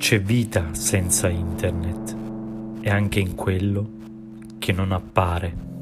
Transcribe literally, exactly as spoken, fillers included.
C'è vita senza internet e anche in quello che non appare.